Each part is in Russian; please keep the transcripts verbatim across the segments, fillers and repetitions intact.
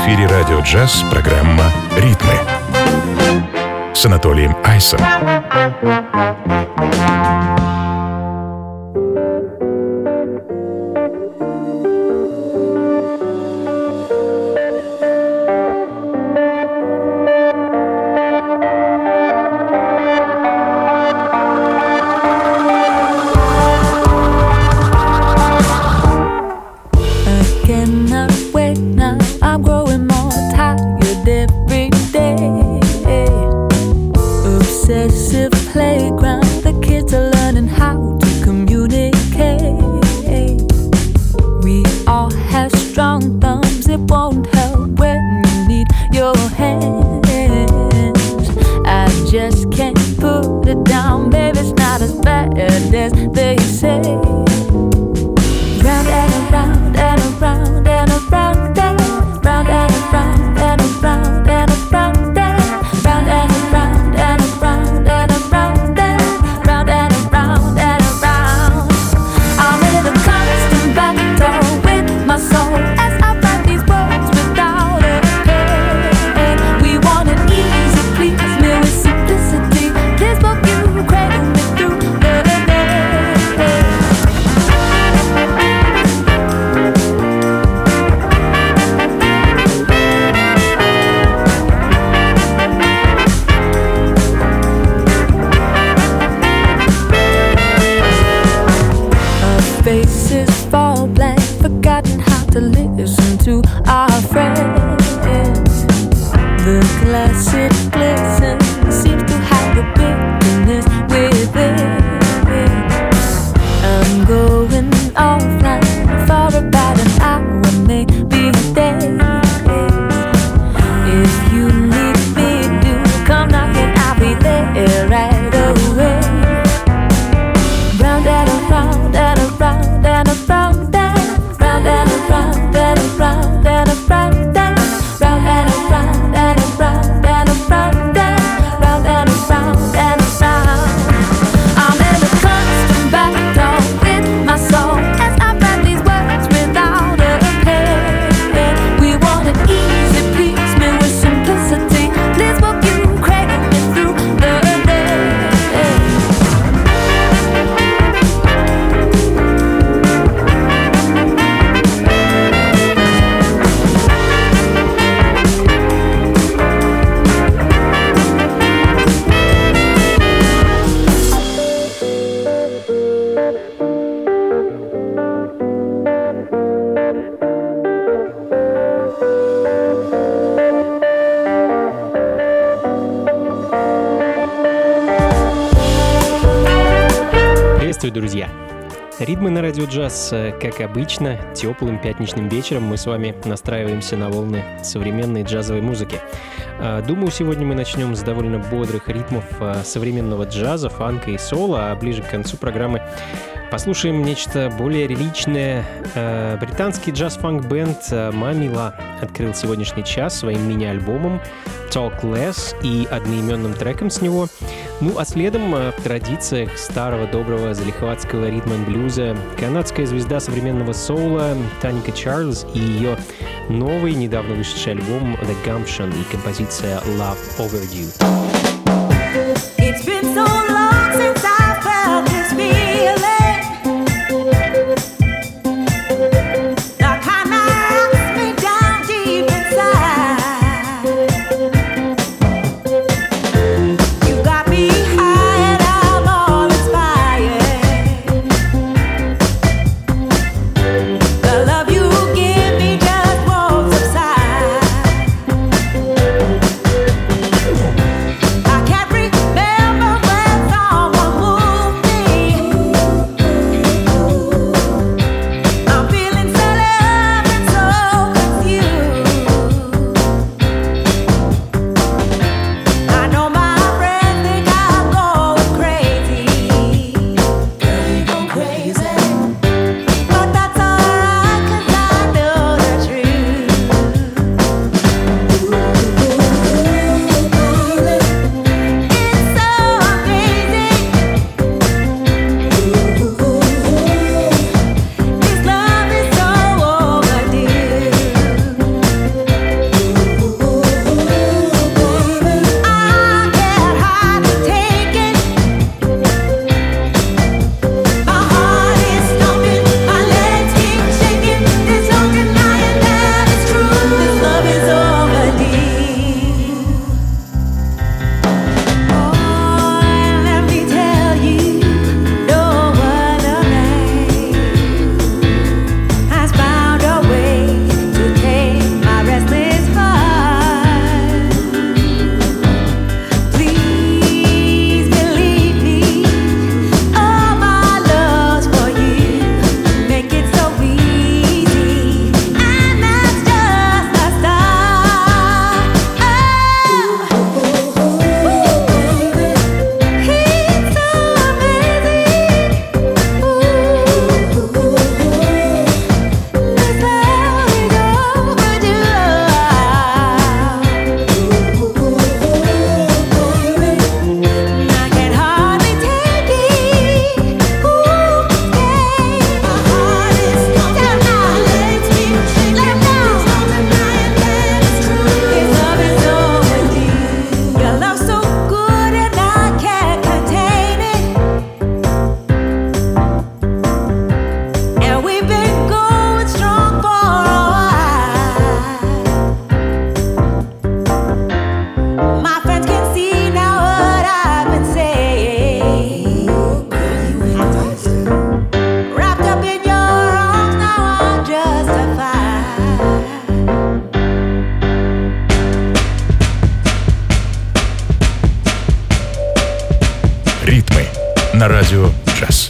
эфире радио «Джаз» программа «Ритмы» с Анатолием Айсом. Друзья, ритмы на радио «Джаз», как обычно, теплым пятничным вечером мы с вами настраиваемся на волны современной джазовой музыки. Думаю, сегодня мы начнем с довольно бодрых ритмов современного джаза, фанка и соло, а ближе к концу программы послушаем нечто более реличное. Британский джаз-фанк-бенд Mamila открыл сегодняшний час своим мини-альбомом Talk Less и одноименным треком с него. Ну а следом, в традициях старого доброго залихватского ритм-н-блюза, канадская звезда современного соула Таника Чарльз и ее новый, недавно вышедший альбом The Gumption и композиция Love Overdue. It's been so long since I felt this feeling. We'll be right back. радио «Джаз».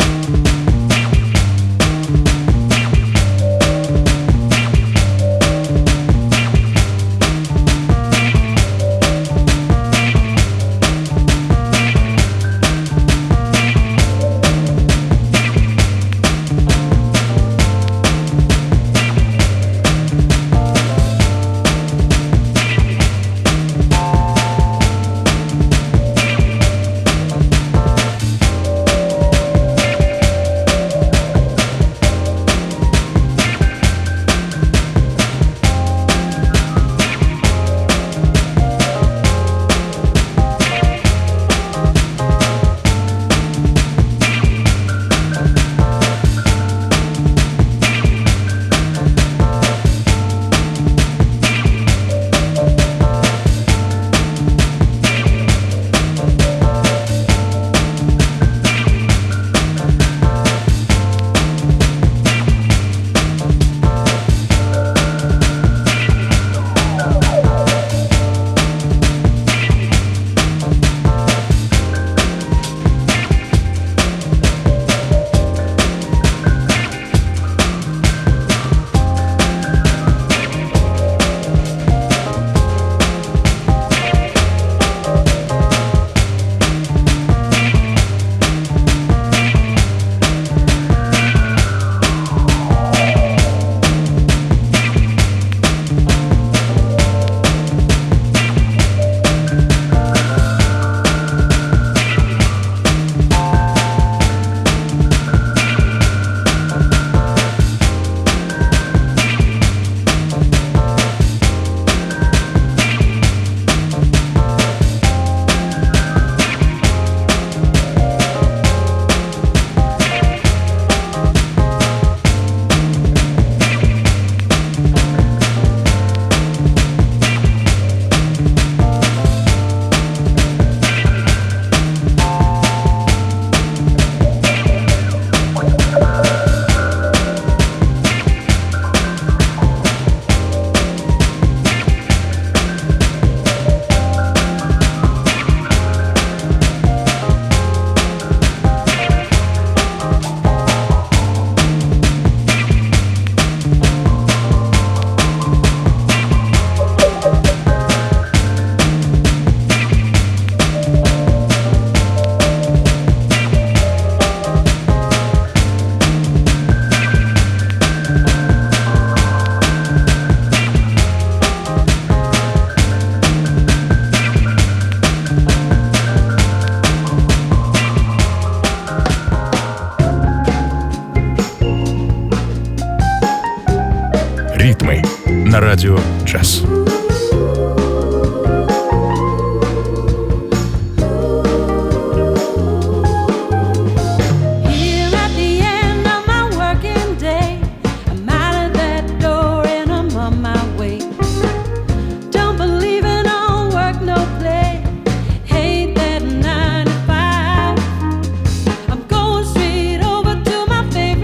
Ритмы на радио «Джаз».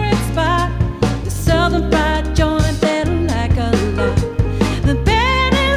The band is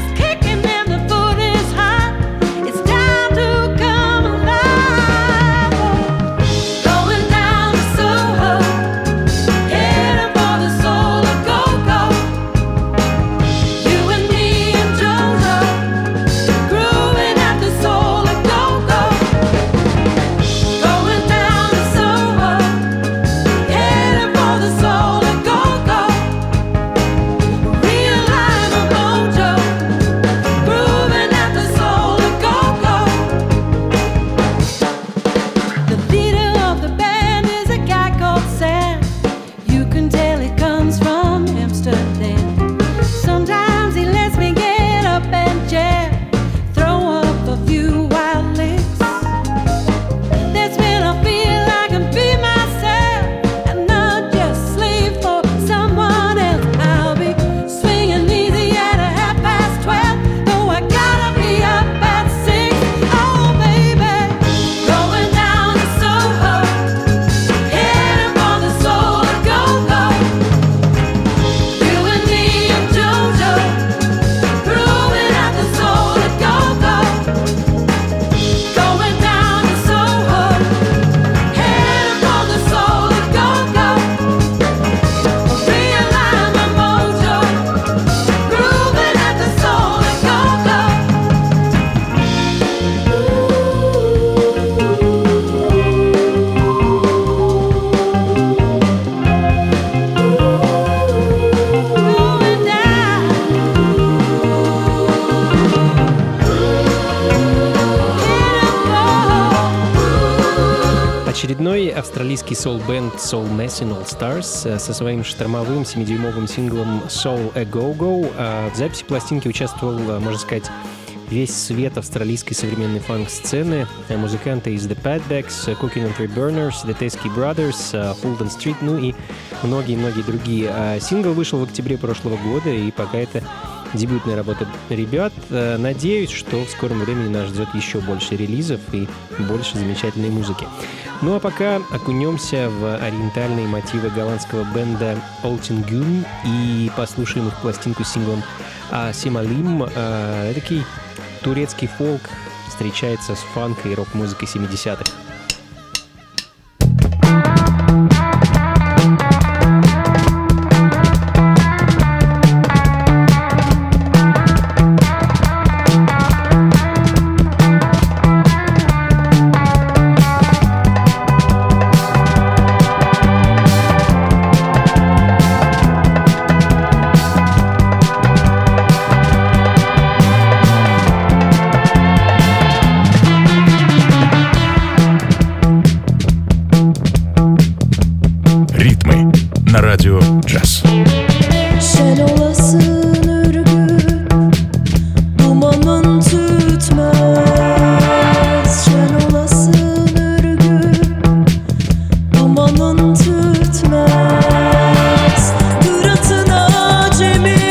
австралийский соул-бенд Soul Machine All Stars со своим штормовым семидюймовым синглом Soul A Go Go. В записи пластинки участвовал, можно сказать, весь свет австралийской современной фанк-сцены. Музыканты из The Padbacks, Cooking on Three Burners, The Teskey Brothers, Fulton Street, ну и многие-многие другие. Сингл вышел в октябре прошлого года, и пока это дебютная работа ребят. Надеюсь, что в скором времени нас ждет еще больше релизов и больше замечательной музыки. Ну а пока окунемся в ориентальные мотивы голландского бенда Oltingen и послушаем их пластинку с синглом «Сималим». Такой турецкий фолк встречается с фанк и рок-музыкой семидесятых. Радио Джаз. Sen olasın ürgün, dumanın tütmez. Sen olasın ürgün, dumanın tütmez. Kıratın acemi,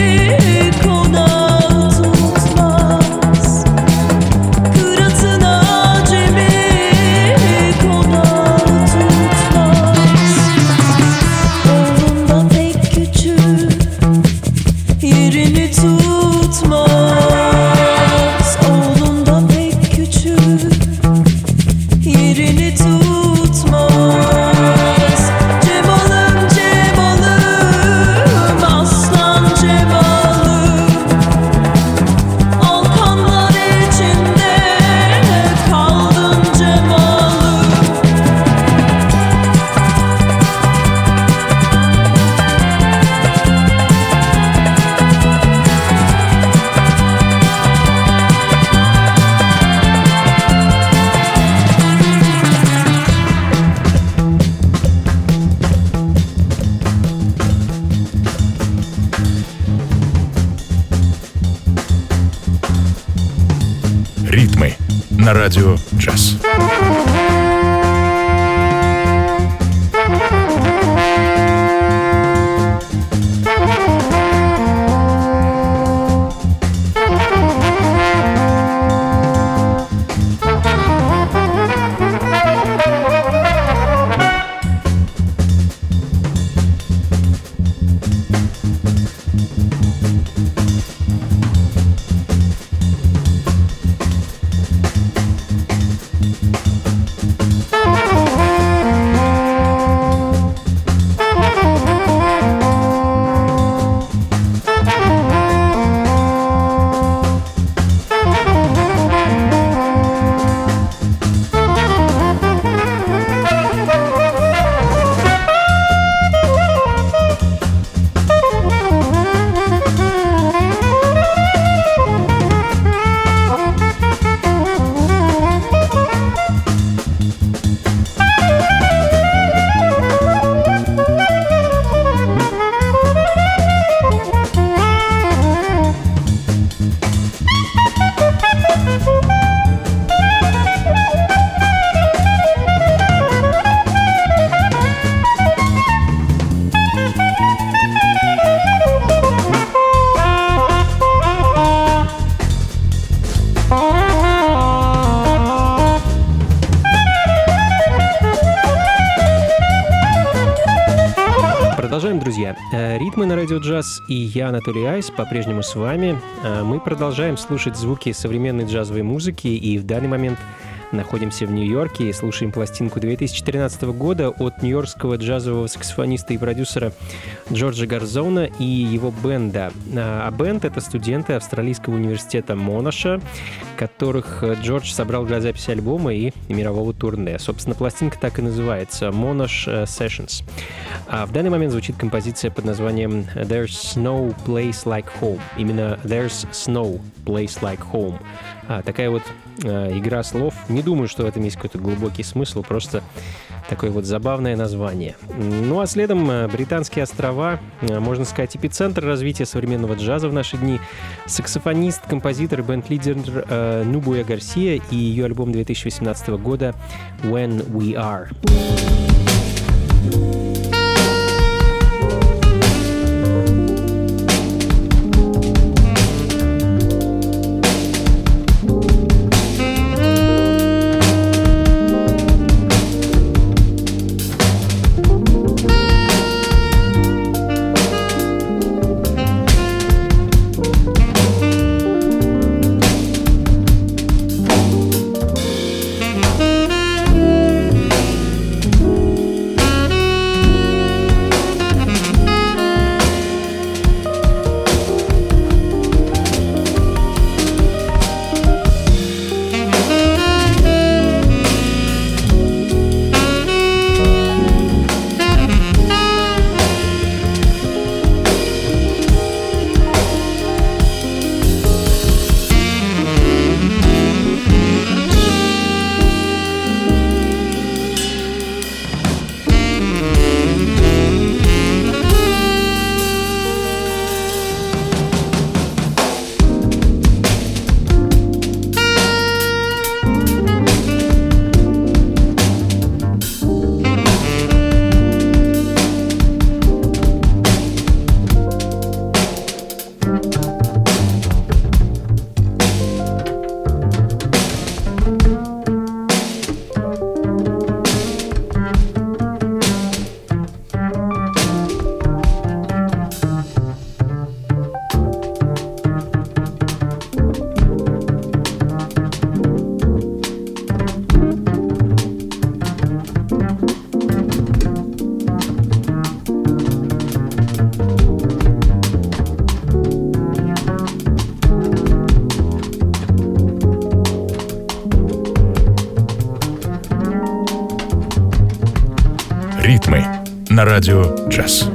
konağı tutmaz. Kıratın acemi, konağı tutmaz. Oğlunda pek küçük, yerini tutmaz. Oğlunda pek küçük, yerini tutmaz. Cemalım Cemalım, aslan Cemalım. Alkanlar içinde kaldın Cemalım. Ритмы на радио Джаз. Продолжаем, друзья. Ритмы на радио Джаз и я, Анатолий Айс, по-прежнему с вами. Мы продолжаем слушать звуки современной джазовой музыки, и в данный момент находимся в Нью-Йорке и слушаем пластинку две тысячи тринадцатого года от нью-йоркского джазового саксофониста и продюсера Джорджа Гарзона и его бенда. А бенд — это студенты австралийского университета Монаша, которых Джордж собрал для записи альбома и мирового турне. Собственно, пластинка так и называется — Monash Sessions. А в данный момент звучит композиция под названием «There's no place like home». Именно «There's snow place like home». А, такая вот э, игра слов. Не думаю, что в этом есть какой-то глубокий смысл, просто такое вот забавное название. Ну а следом э, Британские острова, э, можно сказать, эпицентр развития современного джаза в наши дни. Саксофонист, композитор и бенд-лидер э, Нубуя Гарсия и ее альбом две тысячи восемнадцатого года «When We Are». Ритмы на радио «Джаз».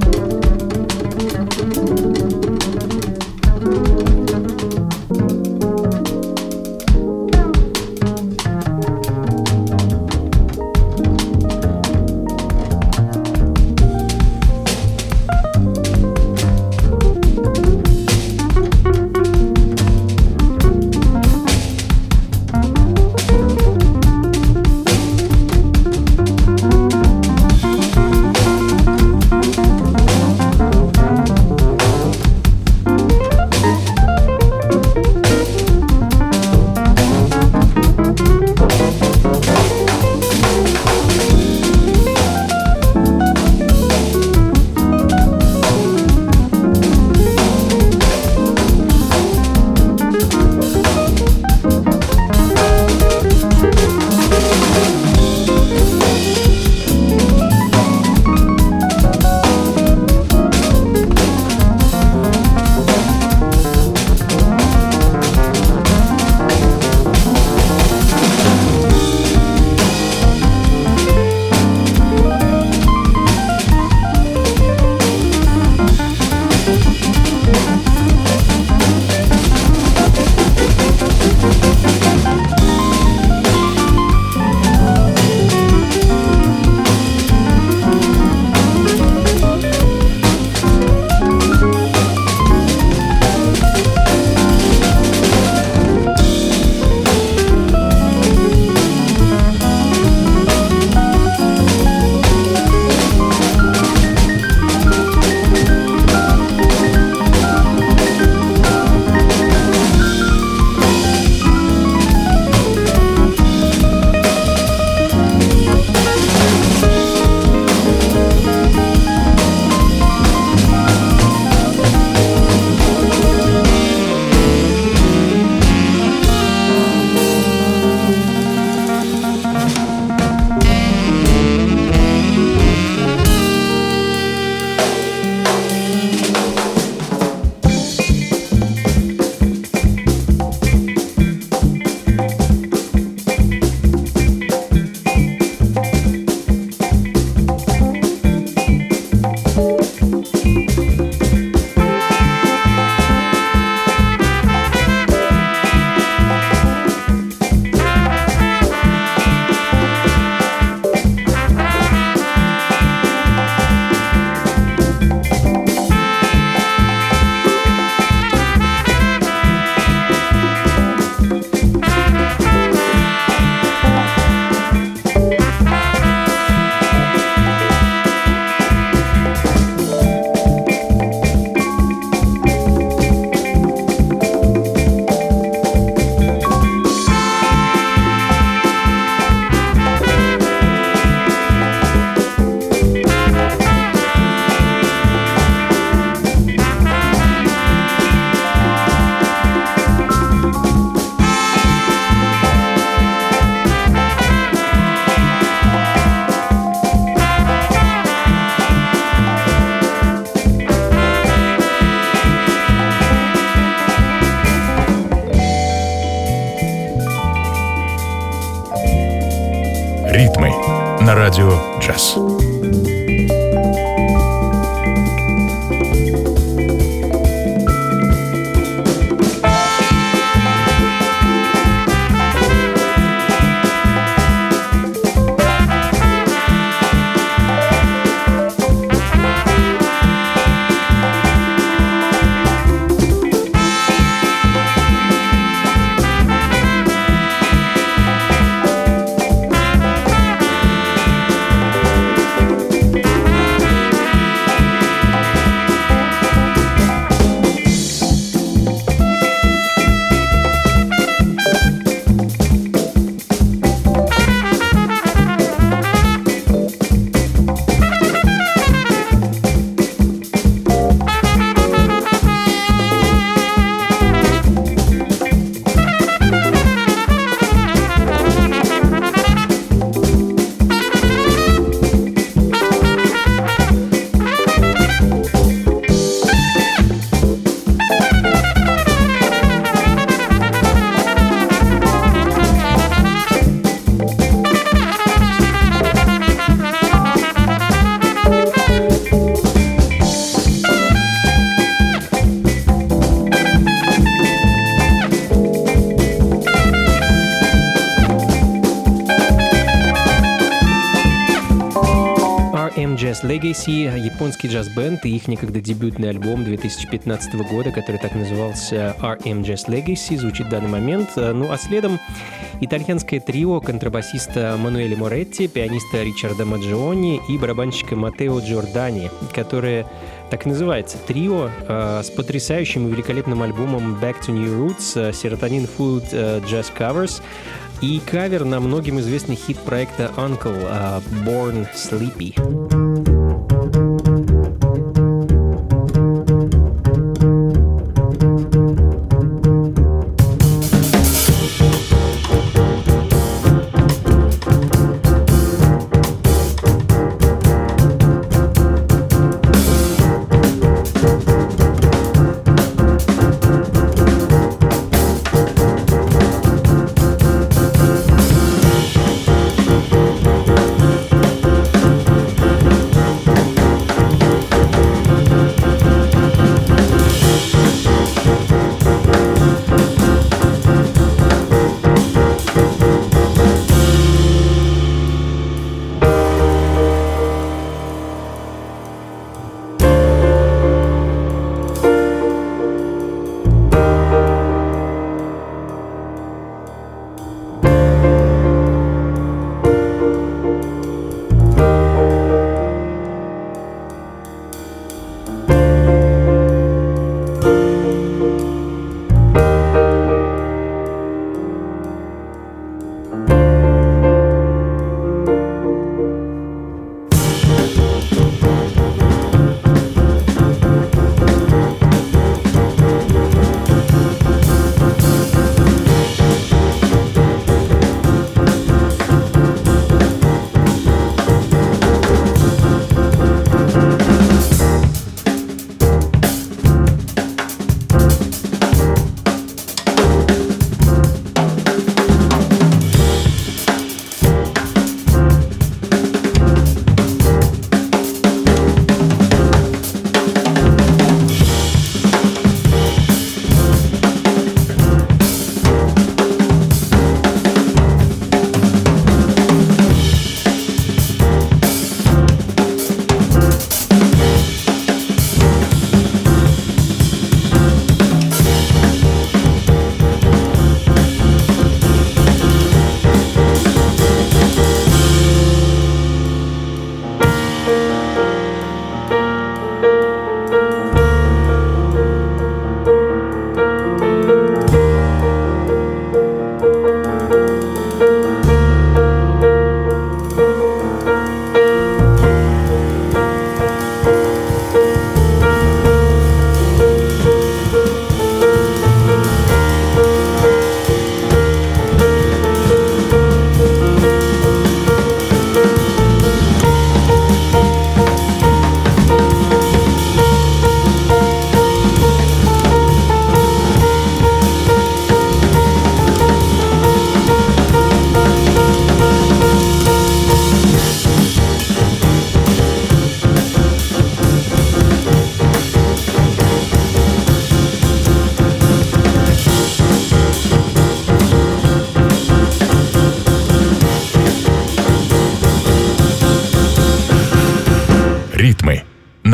на радио джаз. Jazz Legacy, японский джаз-бенд и их некогда дебютный альбом две тысячи пятнадцатого года, который так назывался ар эм Jazz Legacy, звучит в данный момент. Ну а следом итальянское трио контрабасиста Мануэля Моретти, пианиста Ричарда Маджиони и барабанщика Матео Джордани, которое так и называется трио, э, с потрясающим и великолепным альбомом Back to New Roots, Serotonin Food э, Jazz Covers и кавер на многим известный хит проекта Uncle э, Born Sleepy.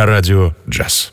на радио «Джаз».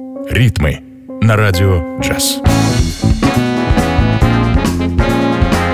«Ритмы» на радио «Джаз».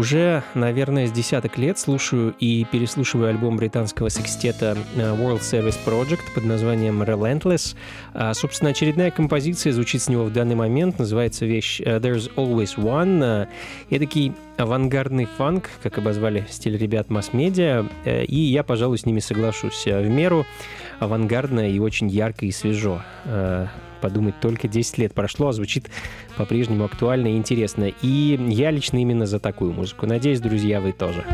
Уже, наверное, с десяток лет слушаю и переслушиваю альбом британского секстета World Service Project под названием Relentless. А, собственно, очередная композиция звучит с него в данный момент. Называется вещь There's Always One. Эдакий авангардный фанк, как обозвали стиль ребят масс-медиа. И я, пожалуй, с ними соглашусь. В меру авангардно и очень ярко и свежо. Подумать, только десять лет прошло, а звучит по-прежнему актуально и интересно. И я лично именно за такую музыку. Надеюсь, друзья, вы тоже.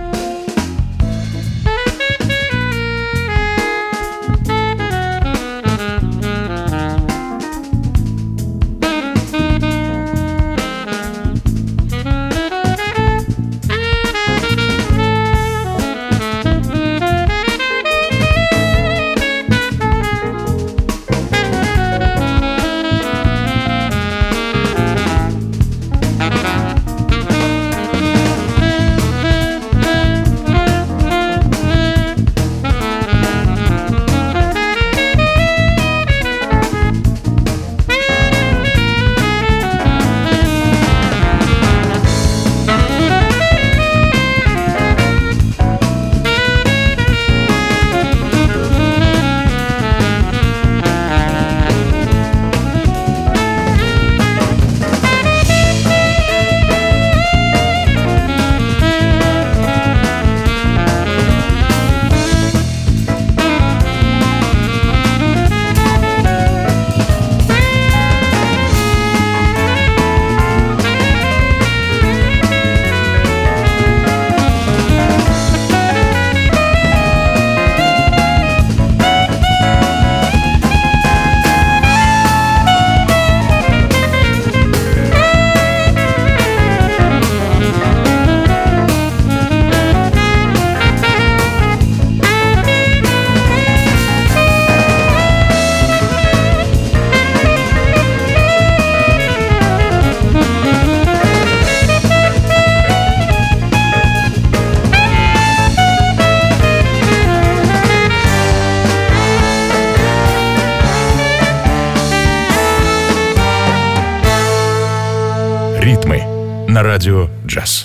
Ритмы на радио «Джаз».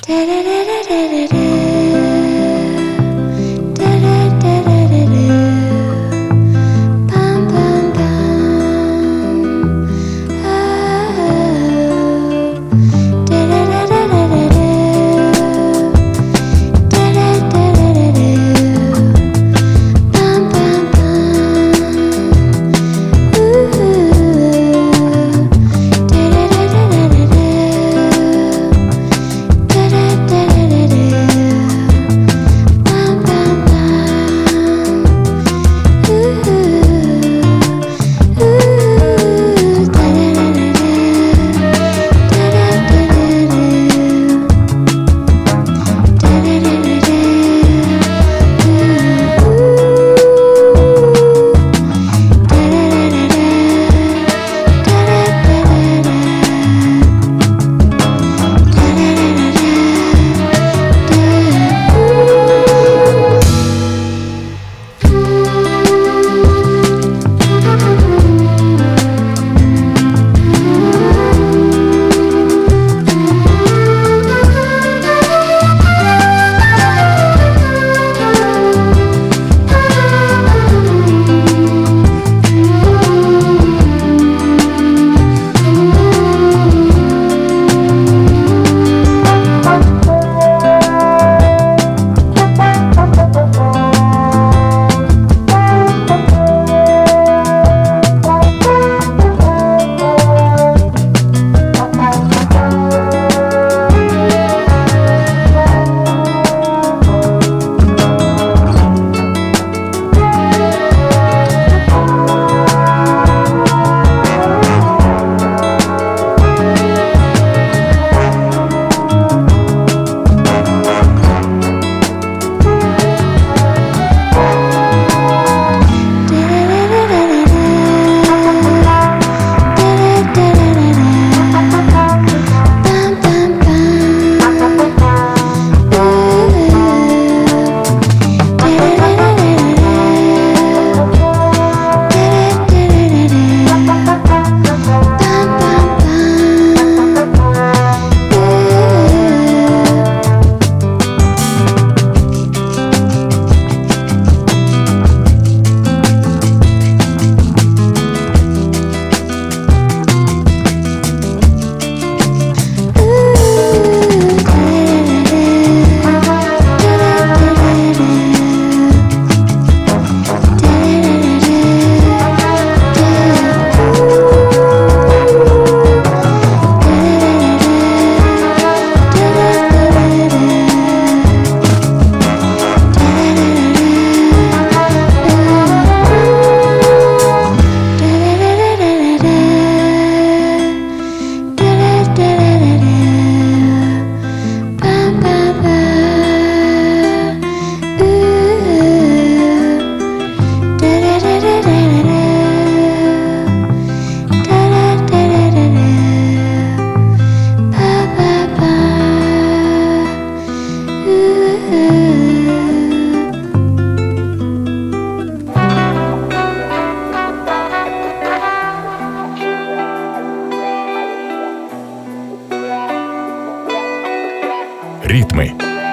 Da da da da da.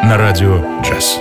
на радио «Джаз».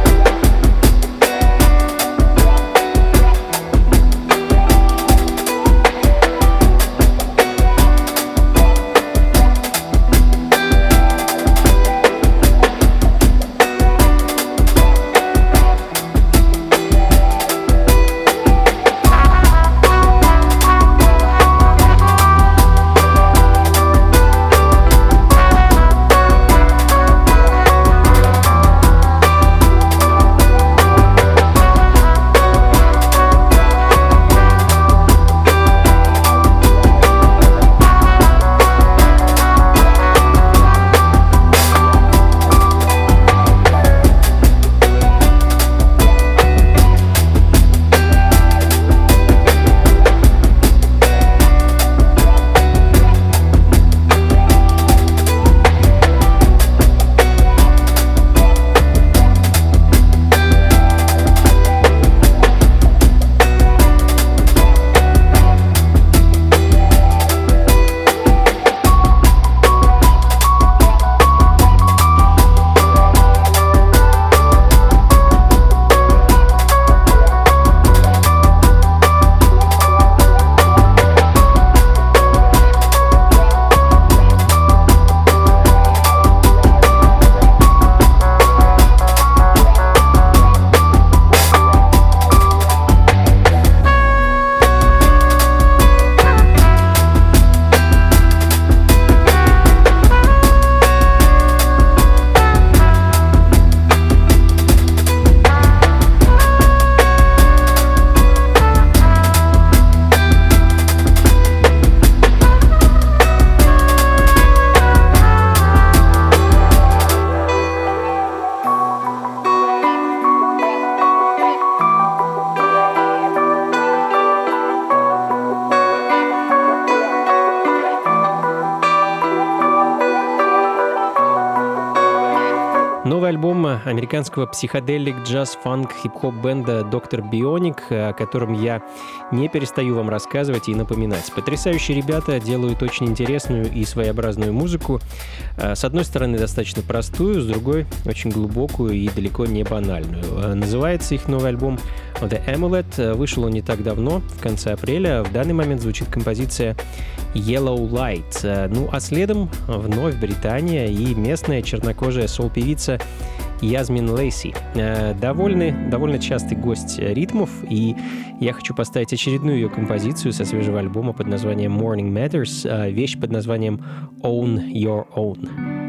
Новый альбом американского психоделик, джаз, фанк, хип-хоп бенда доктор Bionic, о котором я не перестаю вам рассказывать и напоминать. Потрясающие ребята делают очень интересную и своеобразную музыку. С одной стороны, достаточно простую, с другой — очень глубокую и далеко не банальную. Называется их новый альбом The Amulet. Вышел он не так давно, в конце апреля. В данный момент звучит композиция Yellow Light. Ну а следом вновь Британия и местная чернокожая сол-певица Язмин Лейси. Довольно, довольно частый гость ритмов, и я хочу поставить очередную ее композицию со свежего альбома под названием Morning Matters, вещь под названием Own Your Own.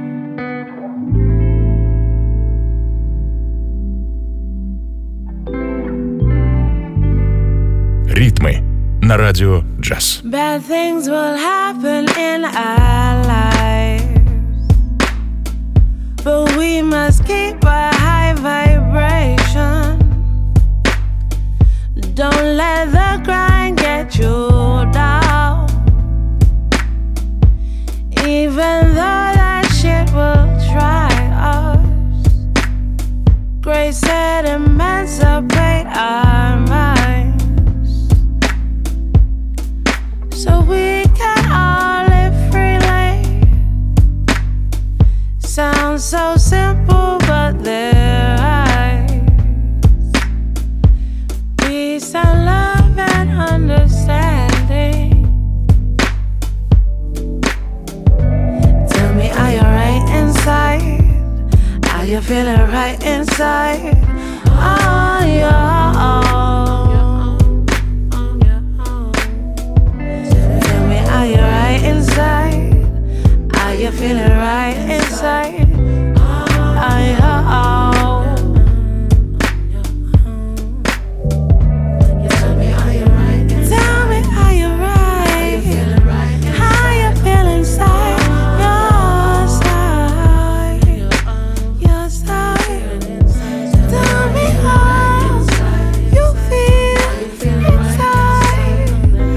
Ритмы на радио «Джаз». Bad things will happen in our lives, but we must keep a high vibration. Don't let the grind get you down, even though that shit will try us. Grace said emancipate our minds, so we can all live freely. Sounds so simple, but there lies peace and love and understanding. Tell me, are you right inside? Are you feeling right inside? Oh, yeah. Are you right inside? Are you feeling right inside? I oh. Tell me, are you right? Tell me, are you right? Are you feeling right? How you feel inside? Your side, your side. Tell me how you feel inside,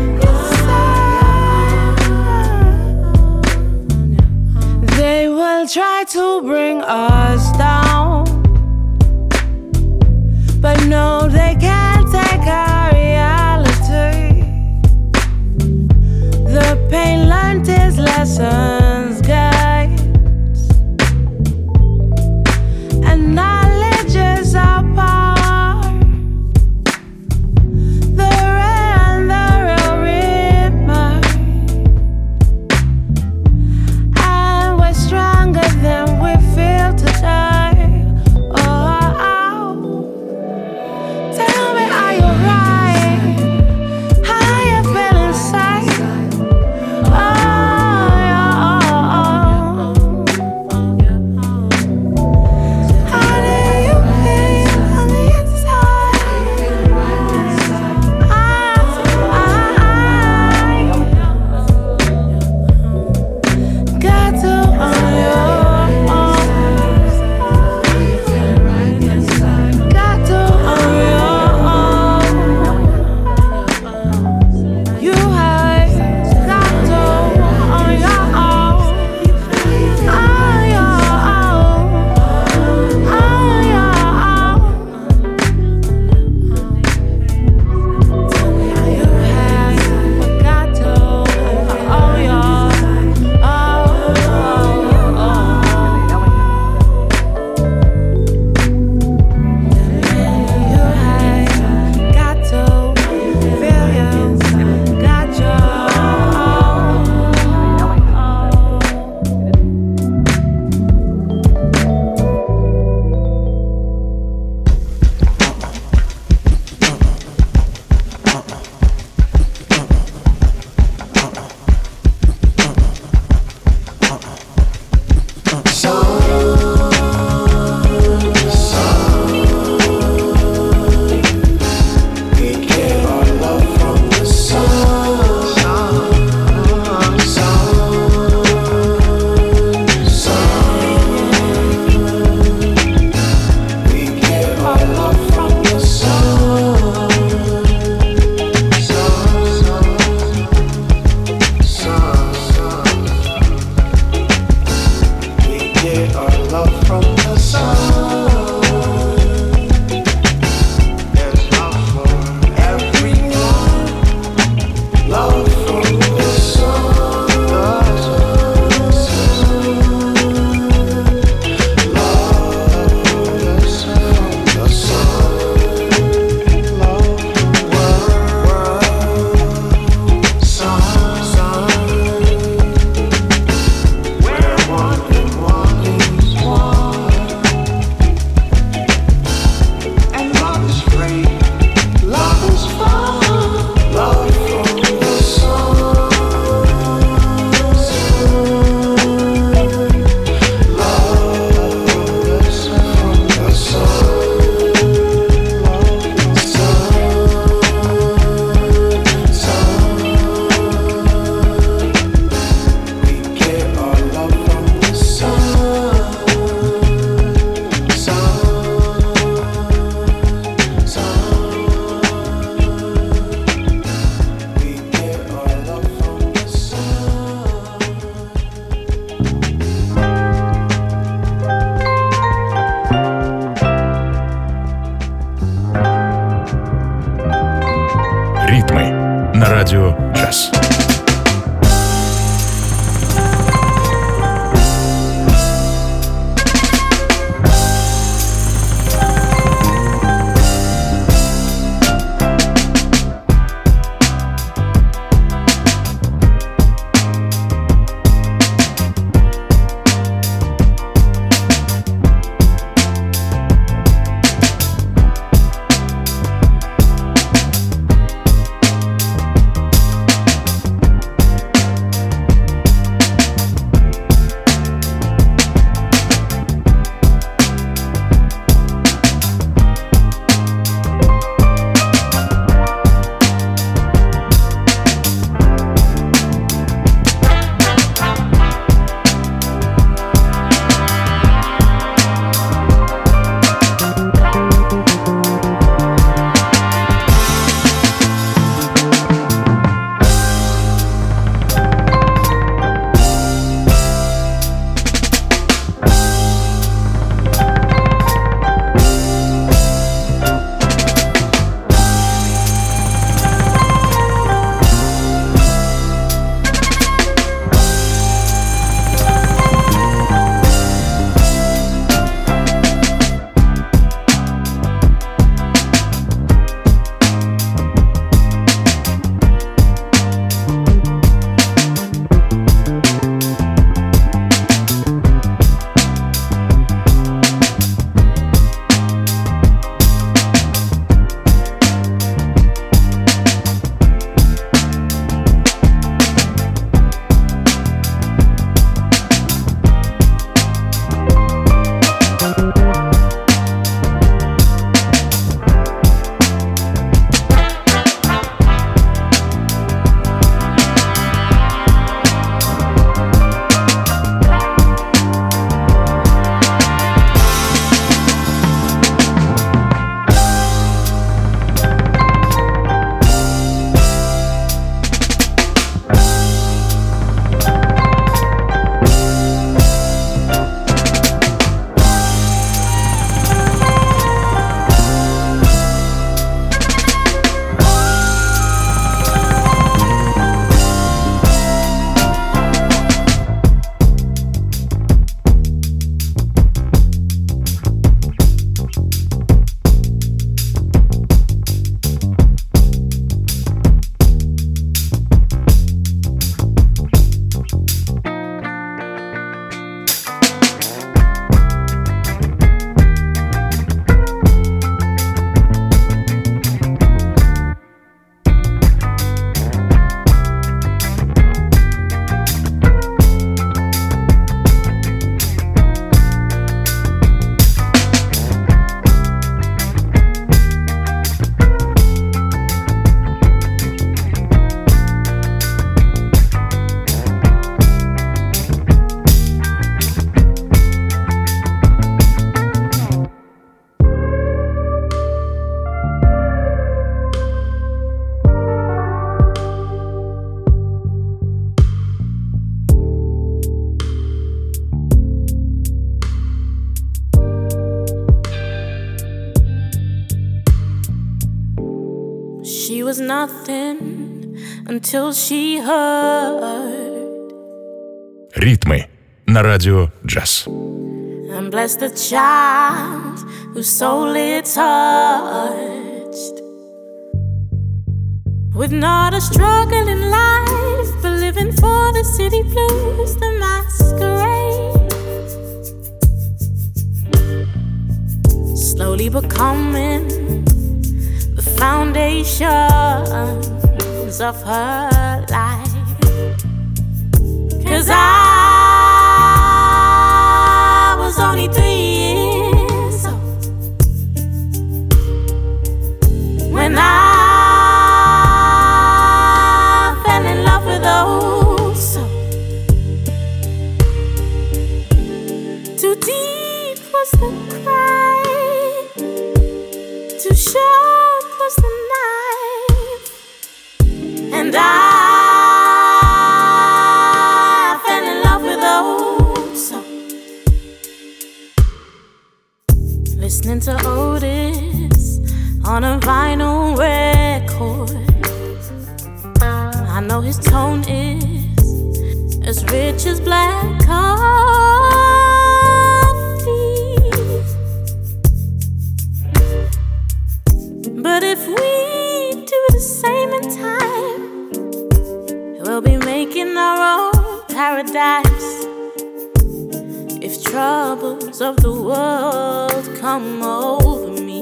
inside. They will try to bring us down, but no, they can't take our reality. The pain learned is lessons, guys, and радио «Джаз». She was nothing until she heard. Ритмы на радио «Джаз». And bless the child whose soul it touched. With not a struggle in life, but living for the city blues, the masquerade. Slowly becoming the foundations of her life. 'Cause I was only three years old when I fell in love with those souls. Too deep was the cry, too sharp was the knife, and I fell in love with those songs. Listening to Otis on a vinyl record, I know his tone is as rich as black coffee. But if we do the same in time, we'll be making our own paradise. If troubles of the world come over me,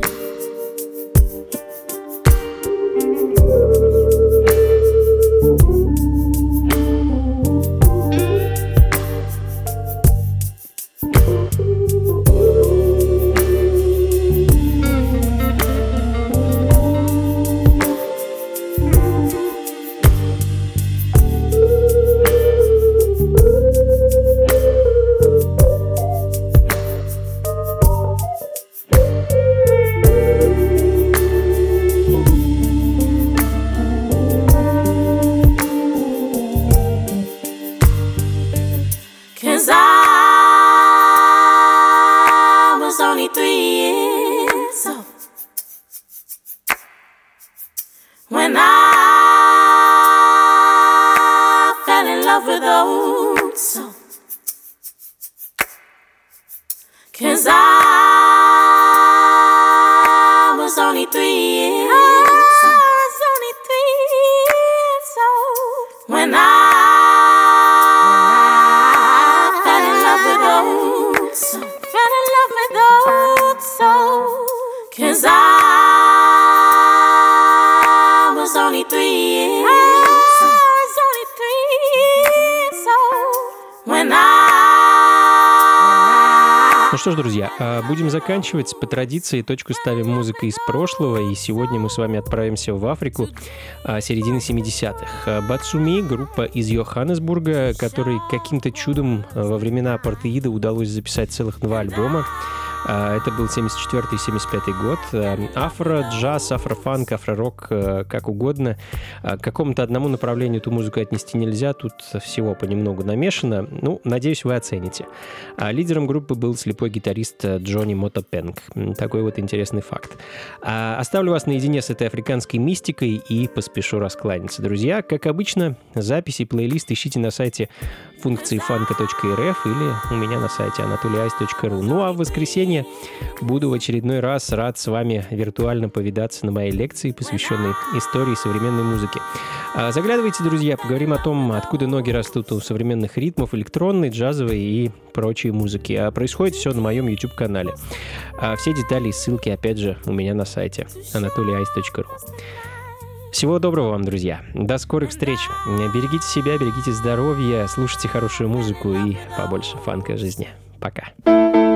when I fell in love with old soul. 'Cause I was only three years old. I was only three years old when I fell in love with old soul. Fell in love with old soul. 'Cause I was only three years old. I was only three years old when I. Ну что ж, друзья, будем заканчивать. По традиции точку ставим музыкой из прошлого, и сегодня мы с вами отправимся в Африку середины семидесятых. Батсуми, группа из Йоханнесбурга, которой каким-то чудом во времена апартеида удалось записать целых два альбома. Это был семьдесят четвёртый — семьдесят пятый год. Афро, джаз, афрофанк, афророк, как угодно. К какому-то одному направлению эту музыку отнести нельзя, тут всего понемногу намешано. Ну, надеюсь, вы оцените. Лидером группы был слепой гитарист Джонни Мотопенг. Такой вот интересный факт. Оставлю вас наедине с этой африканской мистикой и поспешу раскланяться. Друзья, как обычно, записи, плейлист ищите на сайте функции фанка точка эр эф или у меня на сайте анатолий айс точка ру. Ну а в воскресенье буду в очередной раз рад с вами виртуально повидаться на моей лекции, посвященной истории современной музыки. Заглядывайте, друзья, поговорим о том, откуда ноги растут у современных ритмов, электронной, джазовой и прочей музыки. А происходит все на моем YouTube-канале. Все детали и ссылки, опять же, у меня на сайте анатолий айс точка ру. Всего доброго вам, друзья. До скорых встреч. Берегите себя, берегите здоровья, слушайте хорошую музыку и побольше фанка в жизни. Пока.